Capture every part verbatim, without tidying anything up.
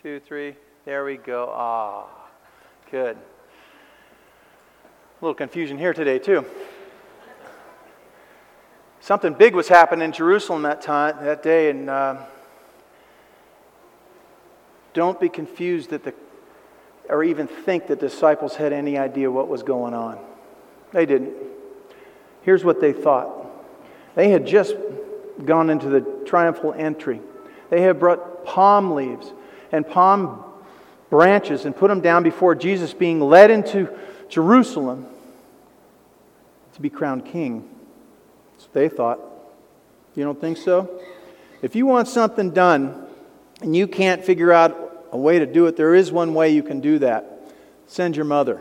two, three. There we go. Ah, good. A little confusion here today, too. Something big was happening in Jerusalem that time, that day, and uh, don't be confused that the, or even think that the disciples had any idea what was going on. They didn't. Here's what they thought. They had just gone into the triumphal entry. They had brought palm leaves and palm branches and put them down before Jesus being led into Jerusalem to be crowned king. That's what they thought. You don't think so? If you want something done and you can't figure out a way to do it, there is one way you can do that. Send your mother.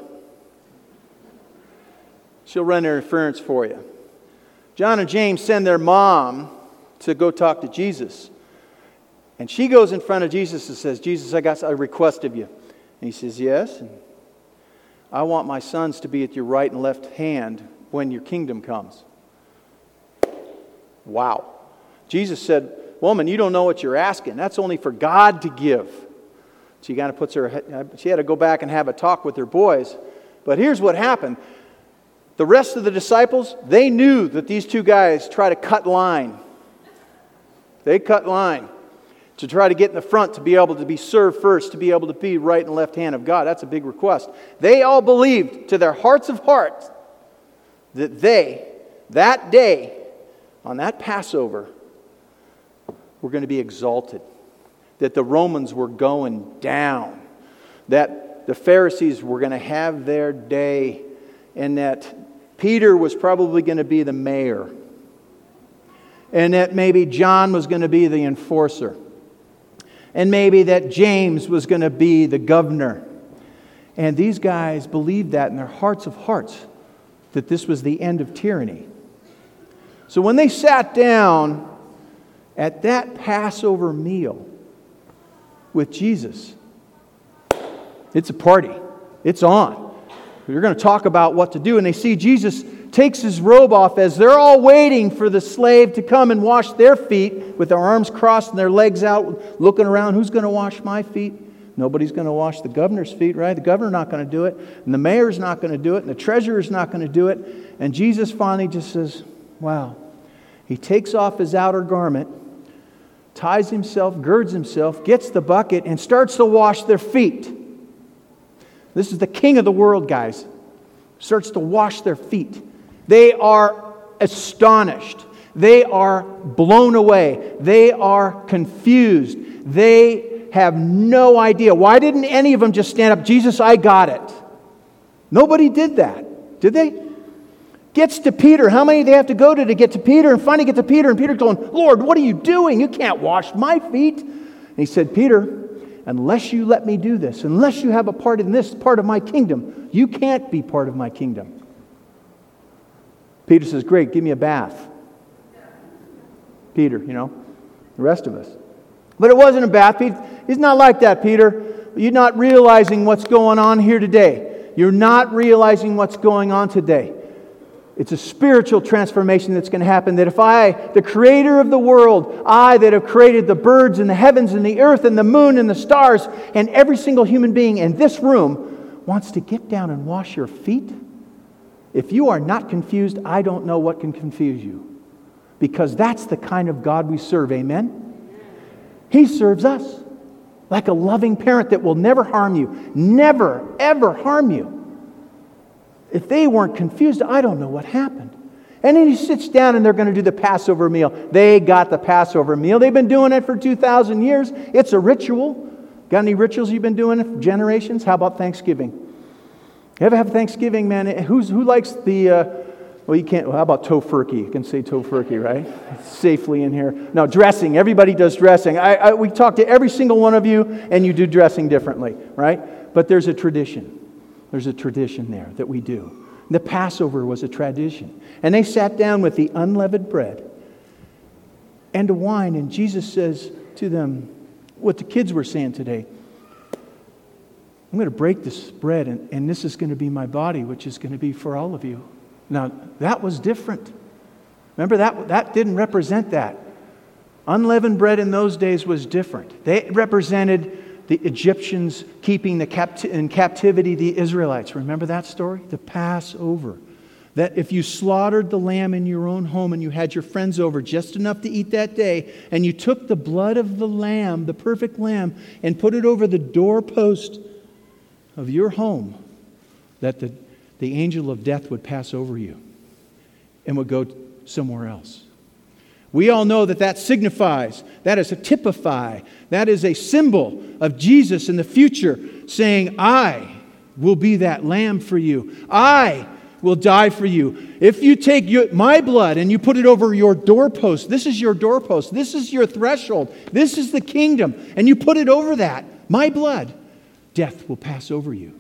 She'll run interference for you. John and James send their mom to go talk to Jesus. And she goes in front of Jesus and says, Jesus, I got a request of you. And he says, yes. And I want my sons to be at your right and left hand when your kingdom comes. Wow. Jesus said, woman, you don't know what you're asking. That's only for God to give. She kind of puts her, she had to go back and have a talk with her boys. But here's what happened. The rest of the disciples, they knew that these two guys try to cut line. They cut line to try to get in the front, to be able to be served first, to be able to be right and left hand of God. That's a big request. They all believed to their hearts of hearts that they, that day, on that Passover, were going to be exalted. That the Romans were going down. That the Pharisees were going to have their day. And that Peter was probably going to be the mayor. And that maybe John was going to be the enforcer. And maybe that James was going to be the governor. And these guys believed that in their hearts of hearts, that this was the end of tyranny. So when they sat down at that Passover meal with Jesus, it's a party. It's on. They're going to talk about what to do. And they see Jesus takes his robe off as they're all waiting for the slave to come and wash their feet with their arms crossed and their legs out, looking around. Who's going to wash my feet? Nobody's going to wash the governor's feet, right? The governor's not going to do it. And the mayor's not going to do it. And the treasurer's not going to do it. And Jesus finally just says, wow. He takes off his outer garment, ties himself, girds himself, gets the bucket, and starts to wash their feet. This is the king of the world, guys. Starts to wash their feet. They are astonished. They are blown away. They are confused. They have no idea. Why didn't any of them just stand up? Jesus, I got it. Nobody did that. Did they? Gets to Peter. How many do they have to go to to get to Peter? And finally get to Peter. And Peter's going, Lord, what are you doing? You can't wash my feet. And he said, Peter, unless you let me do this, unless you have a part in this part of my kingdom, you can't be part of my kingdom. Peter says, great, give me a bath. Peter, you know, the rest of us. But it wasn't a bath. He's not like that, Peter. You're not realizing what's going on here today. You're not realizing what's going on today. It's a spiritual transformation that's going to happen. That if I, the creator of the world, I that have created the birds and the heavens and the earth and the moon and the stars and every single human being in this room wants to get down and wash your feet, if you are not confused, I don't know what can confuse you. Because that's the kind of God we serve, amen? He serves us like a loving parent that will never harm you. Never, ever harm you. If they weren't confused, I don't know what happened. And then he sits down and they're going to do the Passover meal. They got the Passover meal. They've been doing it for two thousand years. It's a ritual. Got any rituals you've been doing for generations? How about Thanksgiving? You ever have Thanksgiving, man? Who's, who likes the, uh, well, you can't, well, how about tofurkey? You can say tofurkey, right? It's safely in here. No, dressing. Everybody does dressing. I, I, we talk to every single one of you, and you do dressing differently, right? But there's a tradition. There's a tradition there that we do. The Passover was a tradition. And they sat down with the unleavened bread and the wine. And Jesus says to them, what the kids were saying today, I'm going to break this bread and, and this is going to be my body, which is going to be for all of you. Now, that was different. Remember, that, that didn't represent that. Unleavened bread in those days was different. They represented the Egyptians keeping the capt- in captivity the Israelites. Remember that story? The Passover. That if you slaughtered the lamb in your own home and you had your friends over just enough to eat that day, and you took the blood of the lamb, the perfect lamb, and put it over the doorpost of your home, that the, the angel of death would pass over you and would go somewhere else. We all know that that signifies, that is a typify, that is a symbol of Jesus in the future saying, I will be that lamb for you. I will die for you. If you take your, my blood and you put it over your doorpost, this is your doorpost, this is your threshold, this is the kingdom, and you put it over that, my blood, death will pass over you.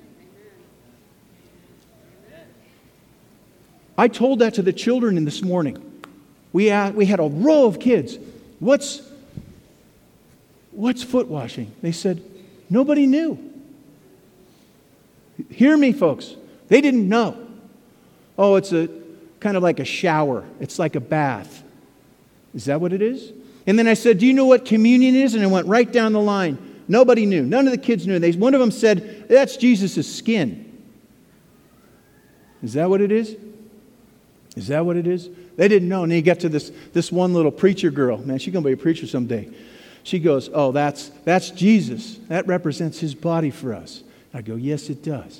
I told that to the children in this morning. We had, we had a row of kids. What's, what's foot washing? They said, nobody knew. Hear me, folks. They didn't know. Oh, it's a kind of like a shower. It's like a bath. Is that what it is? And then I said, do you know what communion is? And I went right down the line. Nobody knew. None of the kids knew. They, one of them said, that's Jesus' skin. Is that what it is? Is that what it is? They didn't know. And then you get to this, this one little preacher girl. Man, she's going to be a preacher someday. She goes, oh, that's, that's Jesus. That represents His body for us. I go, yes, it does.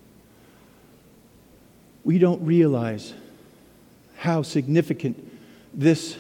We don't realize how significant this,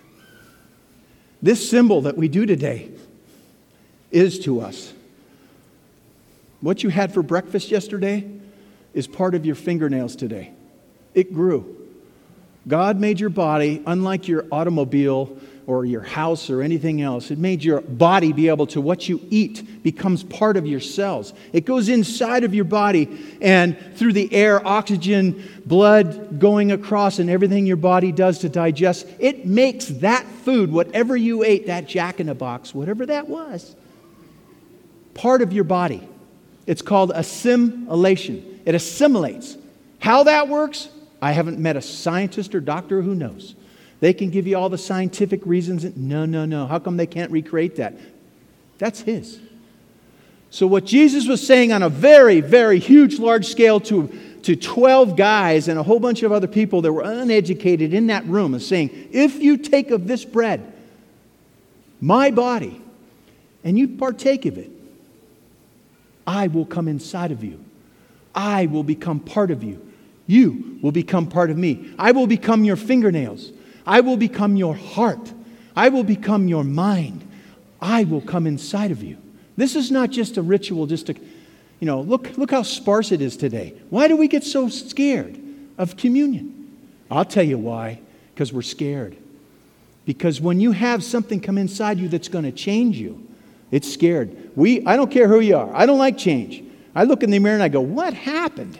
this symbol that we do today is to us. What you had for breakfast yesterday is part of your fingernails today. It grew. God made your body, unlike your automobile or your house or anything else. It made your body be able to, what you eat becomes part of your cells. It goes inside of your body, and through the air, oxygen, blood going across, and everything your body does to digest, it makes that food, whatever you ate, that Jack in the Box, whatever that was, part of your body. It's called assimilation. It assimilates. How that works, I haven't met a scientist or doctor who knows. They can give you all the scientific reasons. No, no, no. How come they can't recreate that? That's His. So what Jesus was saying on a very, very huge, large scale to, to twelve guys and a whole bunch of other people that were uneducated in that room is saying, if you take of this bread, my body, and you partake of it, I will come inside of you. I will become part of you. You will become part of me. I will become your fingernails. I will become your heart. I will become your mind. I will come inside of you. This is not just a ritual, just to, you know, look, look how sparse it is today. Why do we get so scared of communion? I'll tell you why. Because we're scared. Because when you have something come inside you that's going to change you, it's scared. We, I don't care who you are. I don't like change. I look in the mirror and I go, what happened?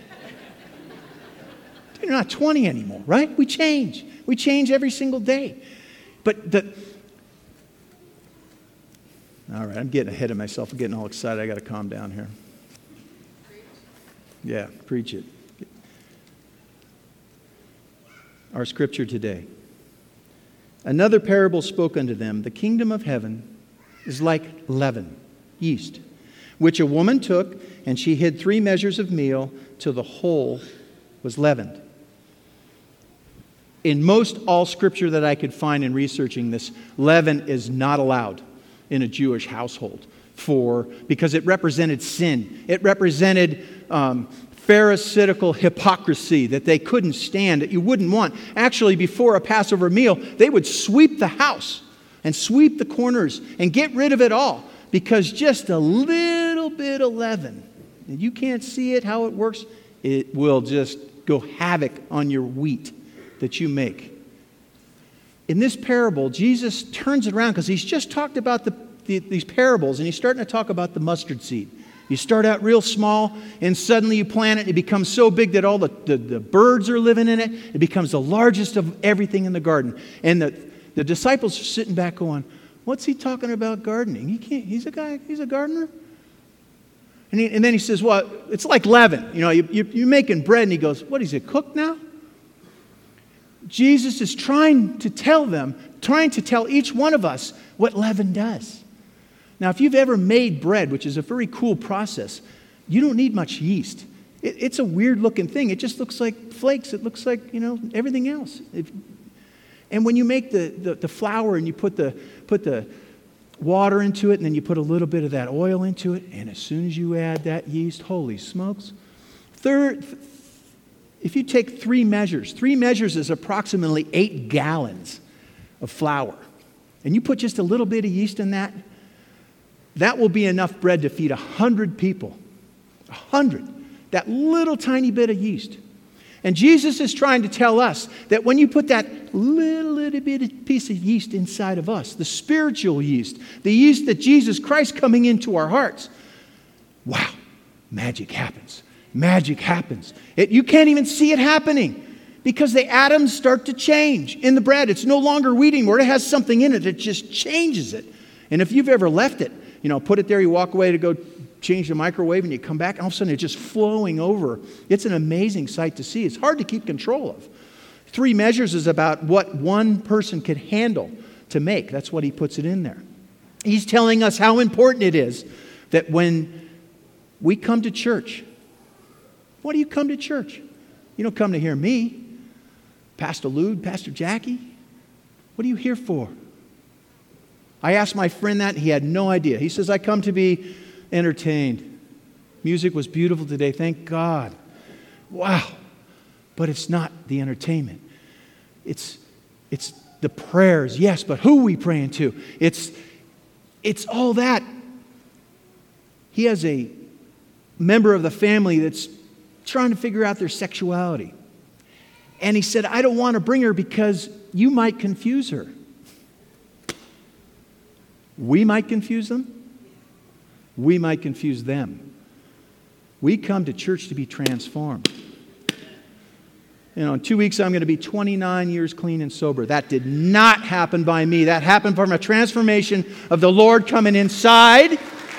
You're not twenty anymore, right? We change. We change every single day. But the... All right, I'm getting ahead of myself. I'm getting all excited. I got to calm down here. Yeah, preach it. Our scripture today. Another parable spoke unto them. The kingdom of heaven is like leaven, yeast, which a woman took, and she hid three measures of meal till the whole was leavened. In most all scripture that I could find in researching this, leaven is not allowed in a Jewish household for because it represented sin. It represented um, Pharisaical hypocrisy that they couldn't stand, that you wouldn't want. Actually, before a Passover meal, they would sweep the house and sweep the corners and get rid of it all because just a little bit of leaven, and you can't see it, how it works, it will just go havoc on your wheat that you make. In this parable, Jesus turns it around because he's just talked about the, the, these parables, and he's starting to talk about the mustard seed. You start out real small, and suddenly you plant it, and it becomes so big that all the, the, the birds are living in it. It becomes the largest of everything in the garden. And the, the disciples are sitting back going, what's he talking about gardening? He can't, he's a guy, he's a gardener. And, he, and then he says, well, it's like leaven. You know, you, you, you're making bread, and he goes, what, is it cooked now? Jesus is trying to tell them, trying to tell each one of us what leaven does. Now, if you've ever made bread, which is a very cool process, you don't need much yeast. It, it's a weird-looking thing. It just looks like flakes. It looks like, you know, everything else. If, and when you make the, the, the flour and you put the, put the water into it, and then you put a little bit of that oil into it, and as soon as you add that yeast, holy smokes. Third, if you take three measures, three measures is approximately eight gallons of flour, and you put just a little bit of yeast in that, that will be enough bread to feed a hundred people. A hundred. That little tiny bit of yeast. And Jesus is trying to tell us that when you put that little, little bit of piece of yeast inside of us, the spiritual yeast, the yeast that Jesus Christ coming into our hearts, wow, magic happens. Magic happens. It, you can't even see it happening because the atoms start to change in the bread. It's no longer wheat anymore. It has something in it that just changes it. And if you've ever left it, you know, put it there, you walk away to go change the microwave, and you come back, and all of a sudden it's just flowing over. It's an amazing sight to see. It's hard to keep control of. Three measures is about what one person could handle to make. That's what he puts it in there. He's telling us how important it is that when we come to church, why do you come to church? You don't come to hear me, Pastor Lude, Pastor Jackie. What are you here for? I asked my friend that, and he had no idea. He says, I come to be entertained. Music was beautiful today, thank God. Wow. But it's not the entertainment. It's, it's the prayers, yes, but who are we praying to? It's, it's all that. He has a member of the family that's trying to figure out their sexuality. And he said, I don't want to bring her because you might confuse her. We might confuse them. We might confuse them. We come to church to be transformed. You know, in two weeks I'm going to be twenty-nine years clean and sober. That did not happen by me. That happened from a transformation of the Lord coming inside.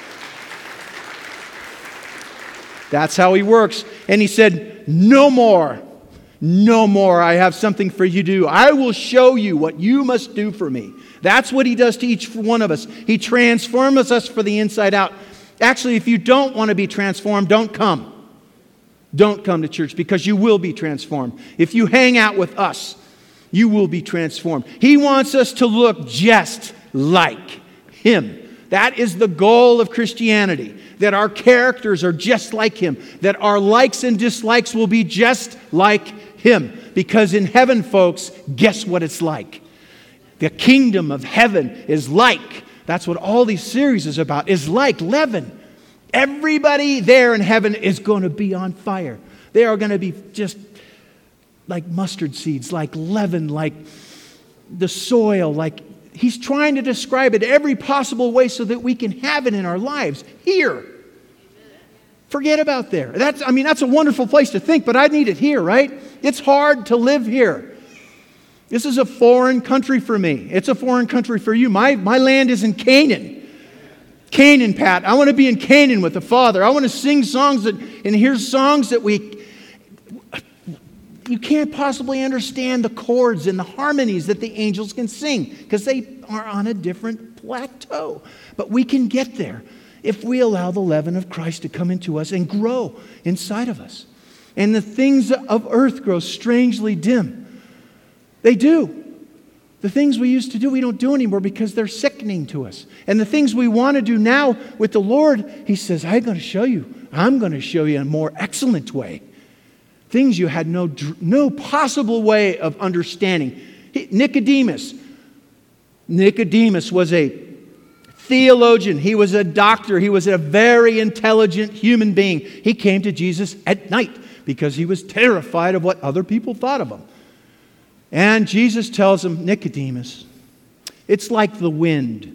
That's how He works. And He said, no more. No more. I have something for you to do. I will show you what you must do for me. That's what He does to each one of us. He transforms us for the inside out. Actually, if you don't want to be transformed, don't come. Don't come to church because you will be transformed. If you hang out with us, you will be transformed. He wants us to look just like Him. That is the goal of Christianity, that our characters are just like Him, that our likes and dislikes will be just like Him. Because in heaven, folks, guess what it's like? The kingdom of heaven is like, that's what all these series is about, is like leaven. Everybody there in heaven is going to be on fire. They are going to be just like mustard seeds, like leaven, like the soil, like He's trying to describe it every possible way so that we can have it in our lives here. Forget about there. That's, I mean, that's a wonderful place to think, but I need it here, right? It's hard to live here. This is a foreign country for me. It's a foreign country for you. My, my land is in Canaan. Canaan, Pat. I want to be in Canaan with the Father. I want to sing songs that, and hear songs that we, you can't possibly understand the chords and the harmonies that the angels can sing because they are on a different plateau. But we can get there if we allow the leaven of Christ to come into us and grow inside of us. And the things of earth grow strangely dim. They do. The things we used to do, we don't do anymore because they're sickening to us. And the things we want to do now with the Lord, He says, I'm going to show you. I'm going to show you in a more excellent way. Things you had no, no possible way of understanding. Nicodemus. Nicodemus was a theologian. He was a doctor. He was a very intelligent human being. He came to Jesus at night because he was terrified of what other people thought of him. And Jesus tells him, Nicodemus, it's like the wind.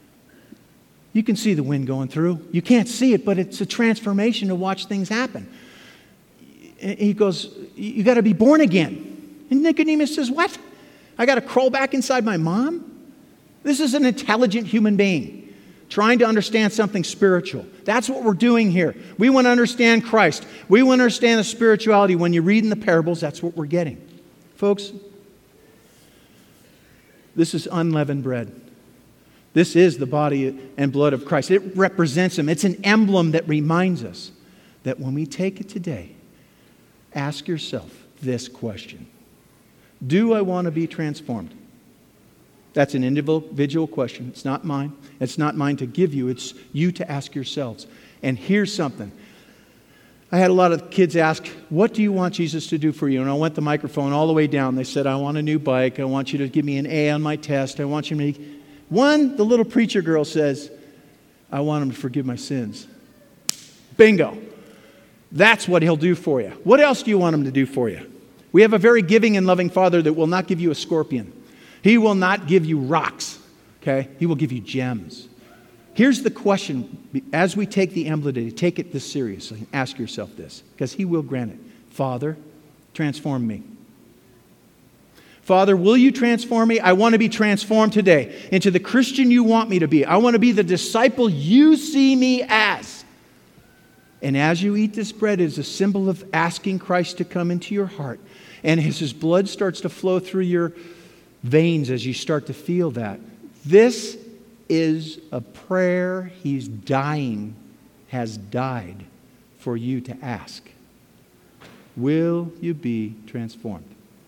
You can see the wind going through. You can't see it, but it's a transformation to watch things happen. And he goes, you got to be born again. And Nicodemus says, what? I got to crawl back inside my mom? This is an intelligent human being trying to understand something spiritual. That's what we're doing here. We want to understand Christ. We want to understand the spirituality. When you read in the parables, that's what we're getting. Folks, this is unleavened bread. This is the body and blood of Christ. It represents Him. It's an emblem that reminds us that when we take it today, ask yourself this question. Do I want to be transformed? That's an individual question. It's not mine. It's not mine to give you. It's you to ask yourselves. And here's something. I had a lot of kids ask, what do you want Jesus to do for you? And I went the microphone all the way down. They said, I want a new bike. I want you to give me an A on my test. I want you to make... One, the little preacher girl says, I want Him to forgive my sins. Bingo. That's what He'll do for you. What else do you want Him to do for you? We have a very giving and loving Father that will not give you a scorpion. He will not give you rocks. Okay? He will give you gems. Here's the question. As we take the emblem today, take it this seriously. Ask yourself this, because He will grant it. Father, transform me. Father, will you transform me? I want to be transformed today into the Christian you want me to be. I want to be the disciple you see me as. And as you eat this bread, it is a symbol of asking Christ to come into your heart. And as His blood starts to flow through your veins as you start to feel that, this is a prayer He's dying, has died for you to ask. Will you be transformed?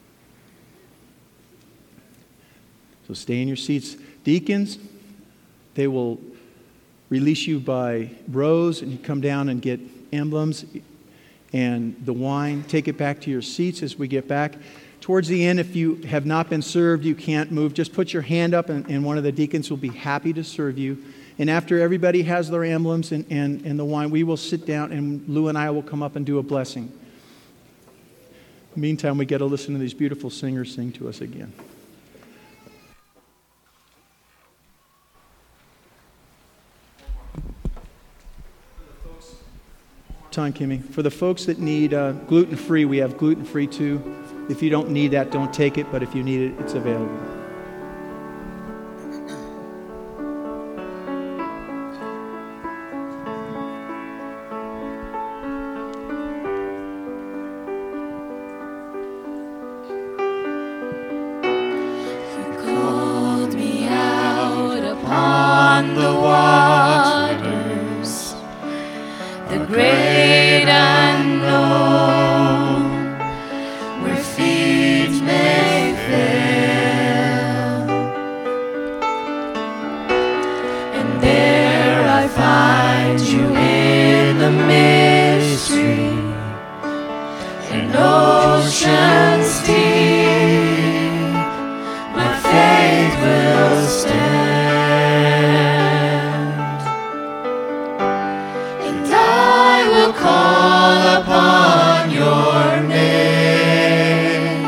So stay in your seats. Deacons, they will release you by rows, and you come down and get emblems and the wine. Take it back to your seats as we get back. Towards the end, if you have not been served, you can't move, just put your hand up and, and one of the deacons will be happy to serve you. And after everybody has their emblems and, and, and the wine, we will sit down and Lou and I will come up and do a blessing. Meantime, we get to listen to these beautiful singers sing to us again. Time, Kimmy. For the folks that need uh, gluten-free, we have gluten-free too. If you don't need that, don't take it, but if you need it, it's available. You called me out upon the waters, the great unknown, where feet may fail. And there I find you in the mystery, in oceans deep, my faith will stand, and I will call upon your name,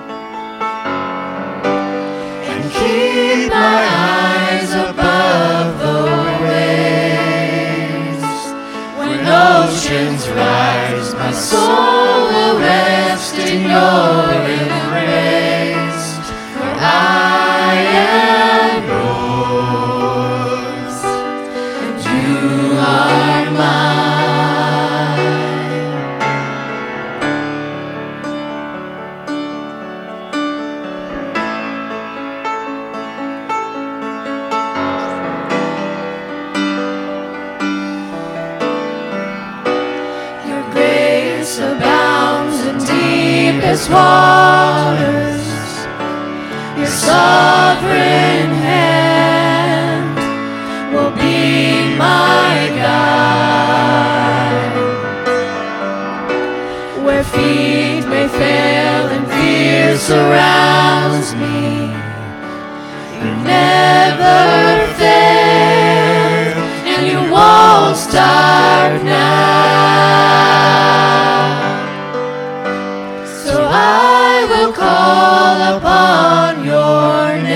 and keep my eyes above the waves. When oceans rise, my soul will rest in your embrace, for I am yours, and you are mine. Your grace abounds in deepest waters. Your sovereign hand will be my guide. Where feet may fail and fear surrounds me, you never fail, and you won't start now. So I will call upon your name,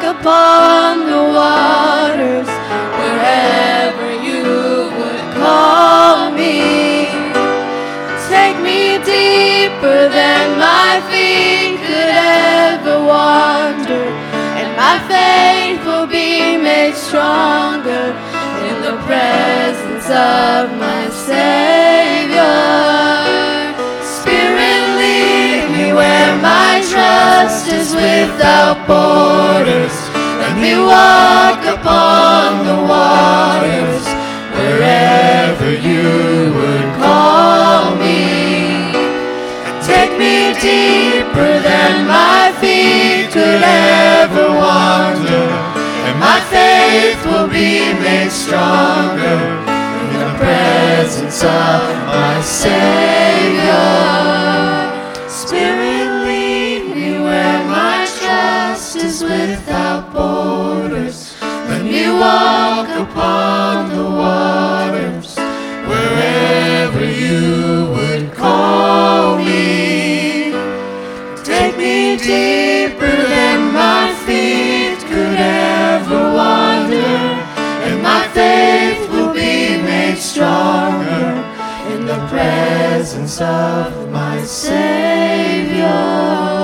upon the waters, wherever you would call me. Take me deeper than my feet could ever wander, and my faith will be made stronger in the presence of my Savior. Spirit, lead me where my trust is without borders. Let me walk upon the waters, wherever you would call me. Take me deeper than my feet could ever wander, and my faith will be made stronger in the presence of my Savior. Spirit, lead me where my trust is without borders. Let me walk upon the waters, wherever you would call me. Take me deeper than my feet could ever wander, and my faith will be made stronger in the presence of my Savior.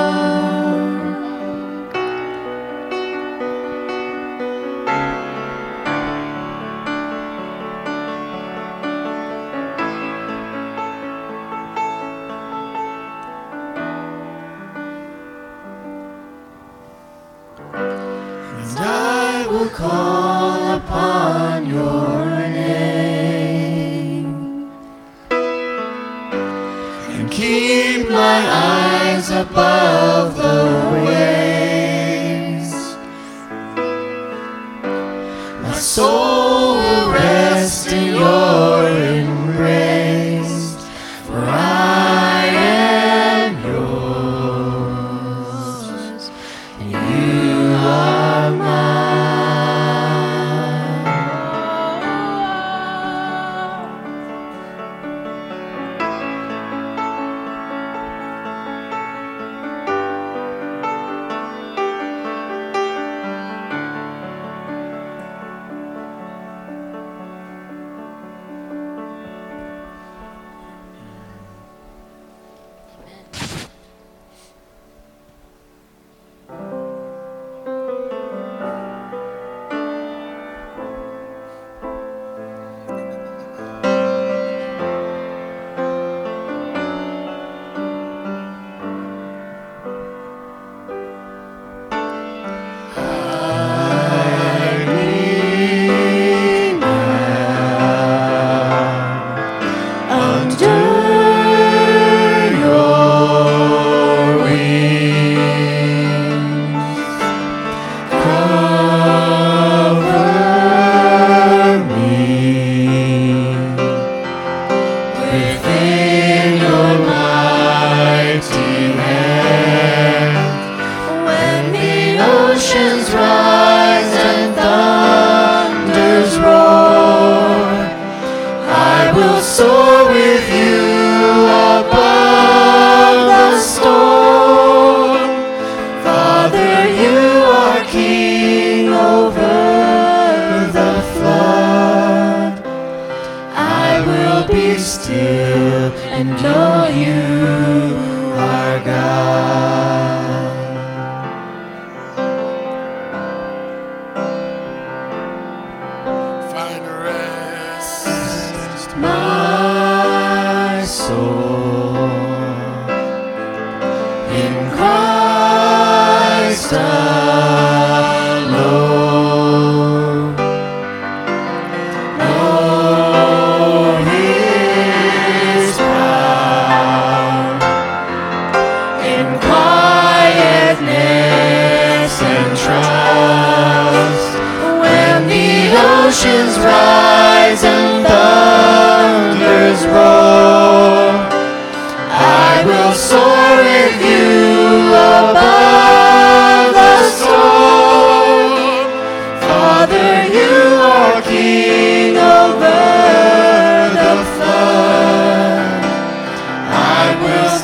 Call upon your name and keep my eyes above the waves. My soul will rest in your embrace, for I am yours and you are mine.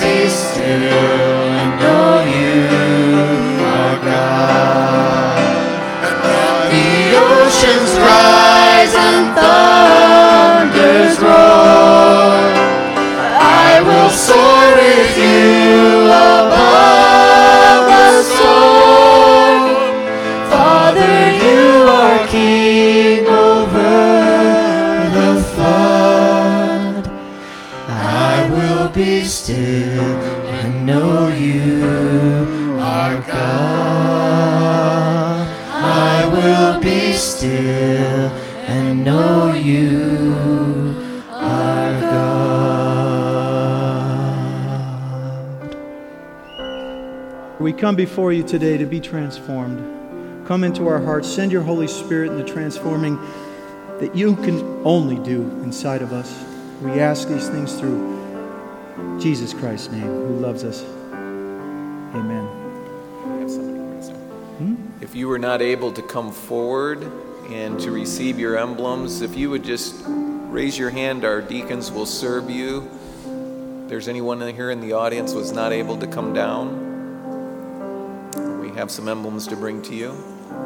still and know you are God. are God. I will be still and know you are God. We come before you today to be transformed. Come into our hearts. Send your Holy Spirit in the transforming that you can only do inside of us. We ask these things through Jesus Christ's name, who loves us. Amen. Hmm? If you were not able to come forward and to receive your emblems, if you would just raise your hand, our deacons will serve you. If there's anyone here in the audience who was not able to come down, we have some emblems to bring to you.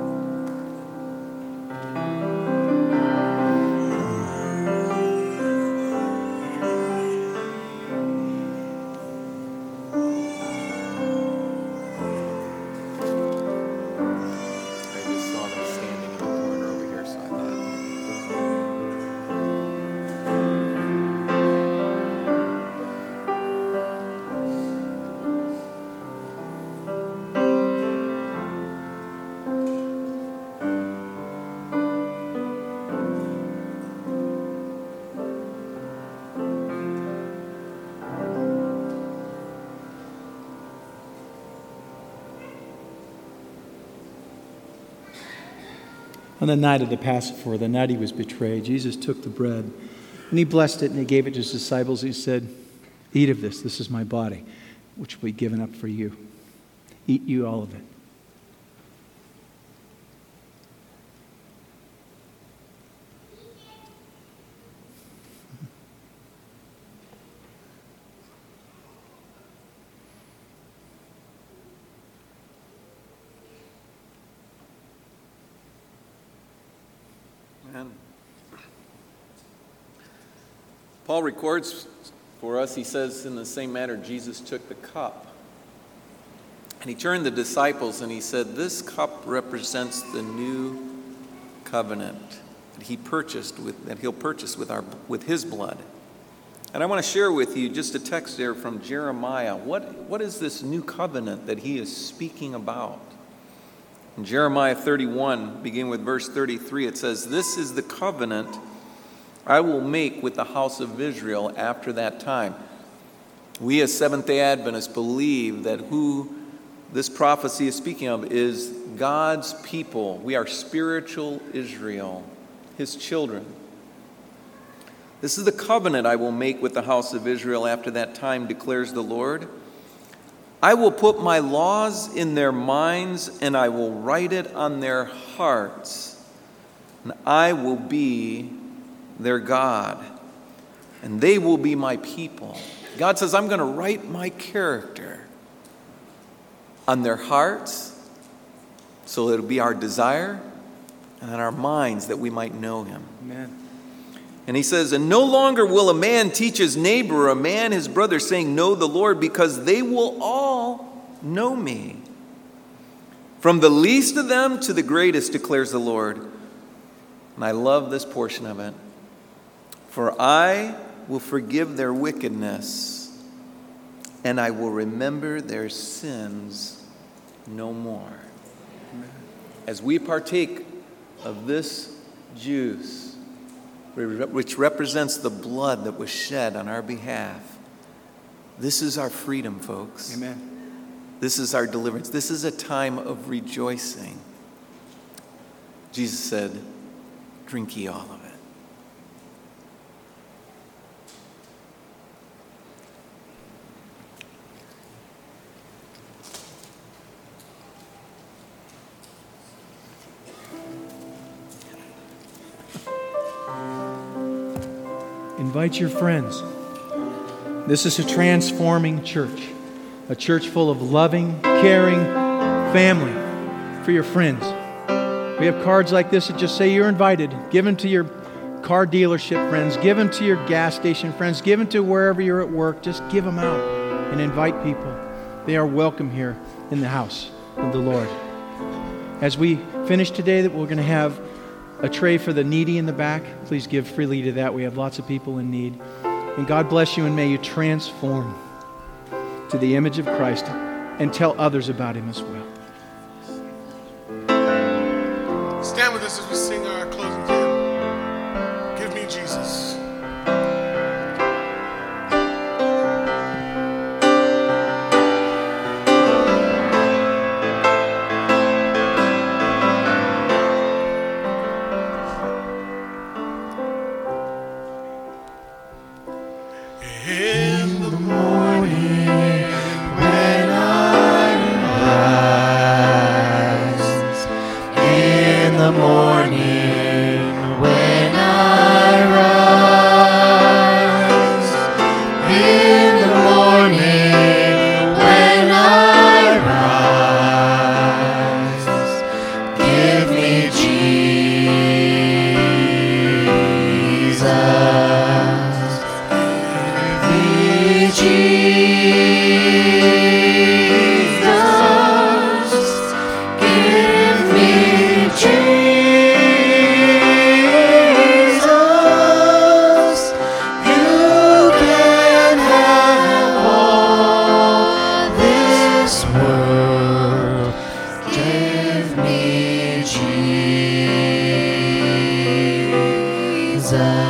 On the night of the Passover, the night he was betrayed, Jesus took the bread and he blessed it and he gave it to his disciples. He said, "Eat of this. This is my body, which will be given up for you. Eat you all of it." Paul records for us, he says, in the same manner, Jesus took the cup. And he turned to the disciples and he said, "This cup represents the new covenant that he purchased with, that he'll purchase with our with his blood." And I want to share with you just a text there from Jeremiah. What, what is this new covenant that he is speaking about? In Jeremiah thirty-one, beginning with verse thirty-three, it says, "This is the covenant I will make with the house of Israel after that time." We as Seventh-day Adventists believe that who this prophecy is speaking of is God's people. We are spiritual Israel, his children. "This is the covenant I will make with the house of Israel after that time, declares the Lord. I will put my laws in their minds, and I will write it on their hearts, and I will be their God, and they will be my people." God says, I'm going to write my character on their hearts, so it'll be our desire, and on our minds that we might know him. Amen. And he says, "And no longer will a man teach his neighbor or a man his brother, saying, 'Know the Lord,' because they will all know me. From the least of them to the greatest, declares the Lord." And I love this portion of it. "For I will forgive their wickedness, and I will remember their sins no more." As we partake of this juice, which represents the blood that was shed on our behalf, this is our freedom, folks. Amen. This is our deliverance. This is a time of rejoicing. Jesus said, "Drink ye all of it." Invite your friends. This is a transforming church, a church full of loving, caring family for your friends. We have cards like this that just say you're invited. Give them to your car dealership friends. Give them to your gas station friends. Give them to wherever you're at work. Just give them out and invite people. They are welcome here in the house of the Lord. As we finish today, that we're going to have a tray for the needy in the back. Please give freely to that. We have lots of people in need. And God bless you, and may you transform to the image of Christ and tell others about him as well. Stand with us as we sing our closing hymn. Give me Jesus. In the morning when I rise, in the morning when I rise, in the morning when I rise, give me Jesus. Jesus, give me Jesus. You can have all this world. Give me Jesus.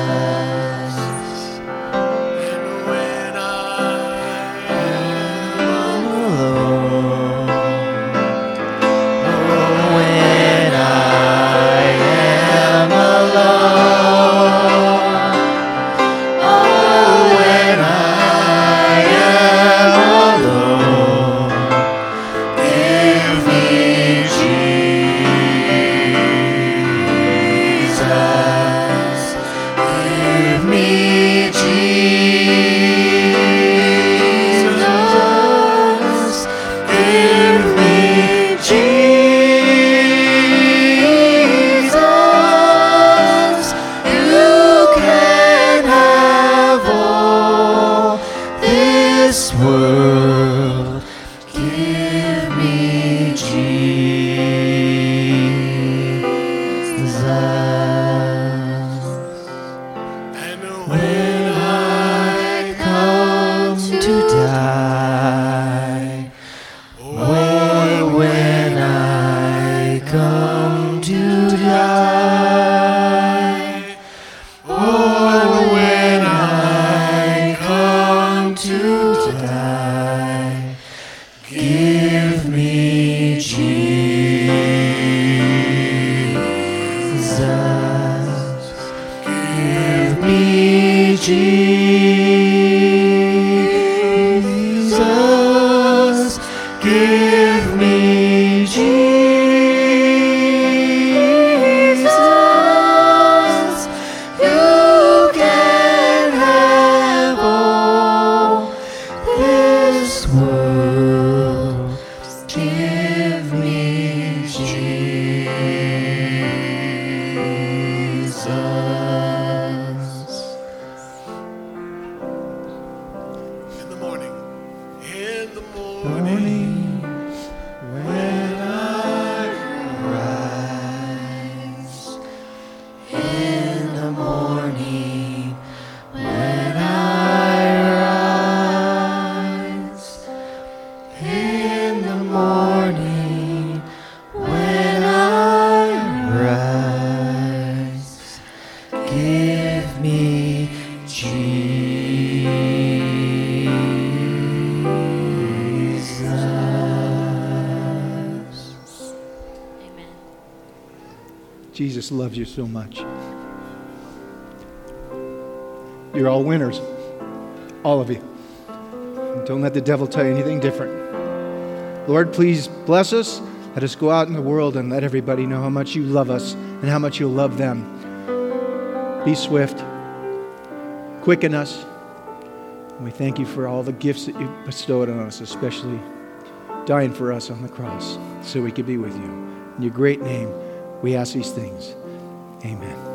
Jesus, give me Jesus. You can have all this world. Give me Jesus. In the morning, in the morning, when I rise, in the morning, when I rise, in the morning, when I rise, give me Jesus. Amen. Jesus loves you so much. You're all winners. All of you. Don't let the devil tell you anything different. Lord, please bless us. Let us go out in the world and let everybody know how much you love us and how much you'll love them. Be swift. Quicken us. And we thank you for all the gifts that you've bestowed on us, especially dying for us on the cross so we could be with you. In your great name, we ask these things. Amen.